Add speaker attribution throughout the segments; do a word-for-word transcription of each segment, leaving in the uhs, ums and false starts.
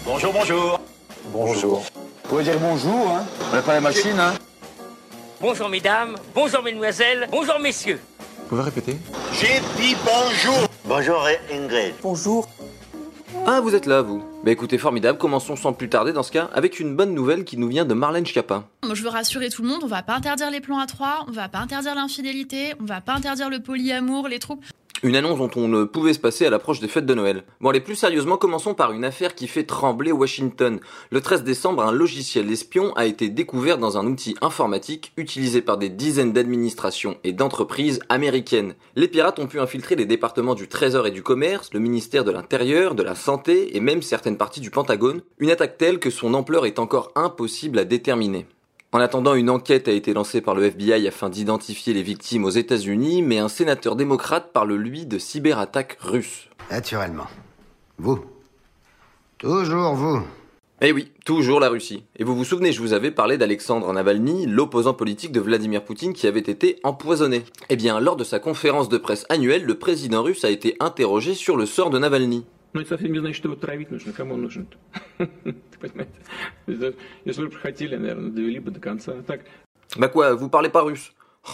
Speaker 1: Bonjour, bonjour.
Speaker 2: Bonjour.
Speaker 3: Vous pouvez dire bonjour, hein. On n'a pas la machine, hein.
Speaker 4: Bonjour mesdames, bonjour mesdemoiselles, bonjour messieurs.
Speaker 2: Vous pouvez répéter?
Speaker 1: J'ai dit bonjour.
Speaker 5: Bonjour Ingrid.
Speaker 3: Bonjour.
Speaker 6: Ah, vous êtes là, vous. Bah écoutez, formidable, commençons sans plus tarder dans ce cas avec une bonne nouvelle qui nous vient de Marlène Schiappa.
Speaker 7: Moi, je veux rassurer tout le monde, on va pas interdire les plans à trois, on va pas interdire l'infidélité, on va pas interdire le polyamour, les troupes.
Speaker 6: Une annonce dont on ne pouvait se passer à l'approche des fêtes de Noël. Bon allez, plus sérieusement, commençons par une affaire qui fait trembler Washington. Le treize décembre, un logiciel espion a été découvert dans un outil informatique utilisé par des dizaines d'administrations et d'entreprises américaines. Les pirates ont pu infiltrer les départements du Trésor et du Commerce, le ministère de l'Intérieur, de la Santé et même certaines parties du Pentagone. Une attaque telle que son ampleur est encore impossible à déterminer. En attendant, une enquête a été lancée par le F B I afin d'identifier les victimes aux États-Unis, mais un sénateur démocrate parle lui de cyberattaques russes.
Speaker 5: Naturellement. Vous. Toujours vous.
Speaker 6: Eh oui, toujours la Russie. Et vous vous souvenez, je vous avais parlé d'Alexandre Navalny, l'opposant politique de Vladimir Poutine qui avait été empoisonné. Eh bien, lors de sa conférence de presse annuelle, le président russe a été interrogé sur le sort de Navalny.
Speaker 8: Но это совсем не значит, что его травить нужно. Кому он нужен? Ты понимаете? Если бы хотели, наверное, довели бы до конца. Так.
Speaker 6: Bah quoi, vous parlez pas russe?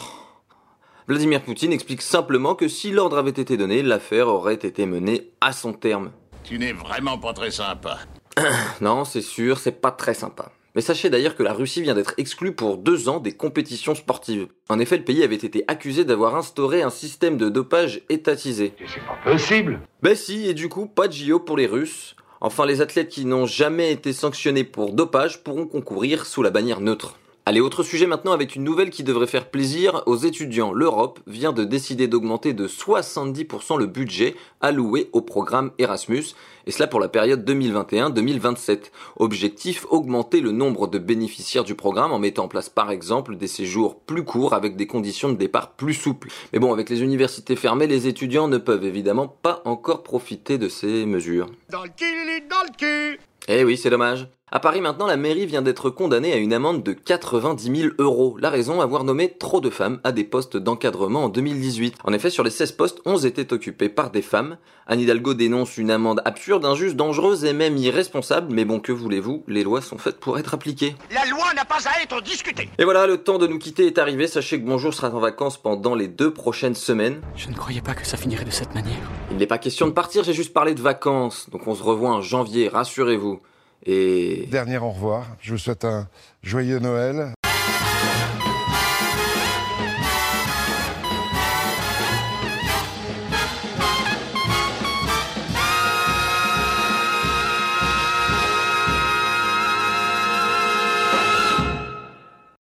Speaker 6: Vladimir Poutine explique simplement que si l'ordre avait été donné, l'affaire aurait été menée à son terme.
Speaker 1: Tu n'es vraiment pas très sympa.
Speaker 6: Non, c'est sûr, c'est pas très sympa. Mais sachez d'ailleurs que la Russie vient d'être exclue pour deux ans des compétitions sportives. En effet, le pays avait été accusé d'avoir instauré un système de dopage étatisé.
Speaker 2: C'est pas possible.
Speaker 6: Ben si, et du coup, pas de J O pour les Russes. Enfin, les athlètes qui n'ont jamais été sanctionnés pour dopage pourront concourir sous la bannière neutre. Allez, autre sujet maintenant avec une nouvelle qui devrait faire plaisir aux étudiants. L'Europe vient de décider d'augmenter de soixante-dix pour cent le budget alloué au programme Erasmus, et cela pour la période deux mille vingt et un deux mille vingt-sept. Objectif, augmenter le nombre de bénéficiaires du programme en mettant en place par exemple des séjours plus courts avec des conditions de départ plus souples. Mais bon, avec les universités fermées, les étudiants ne peuvent évidemment pas encore profiter de ces mesures.
Speaker 1: Dans le cul, dans le cul.
Speaker 6: Eh oui, c'est dommage. À Paris maintenant, la mairie vient d'être condamnée à une amende de quatre-vingt-dix mille euros. La raison, avoir nommé trop de femmes à des postes d'encadrement en deux mille dix-huit. En effet, sur les seize postes, onze étaient occupés par des femmes. Anne Hidalgo dénonce une amende absurde, injuste, dangereuse et même irresponsable. Mais bon, que voulez-vous, les lois sont faites pour être appliquées.
Speaker 1: La loi n'a pas à être discutée.
Speaker 6: Et voilà, le temps de nous quitter est arrivé. Sachez que Bonjour sera en vacances pendant les deux prochaines semaines.
Speaker 9: Je ne croyais pas que ça finirait de cette manière.
Speaker 6: Il n'est pas question de partir, j'ai juste parlé de vacances. Donc on se revoit en janvier, rassurez-vous. Et...
Speaker 10: Dernier au revoir, je vous souhaite un joyeux Noël.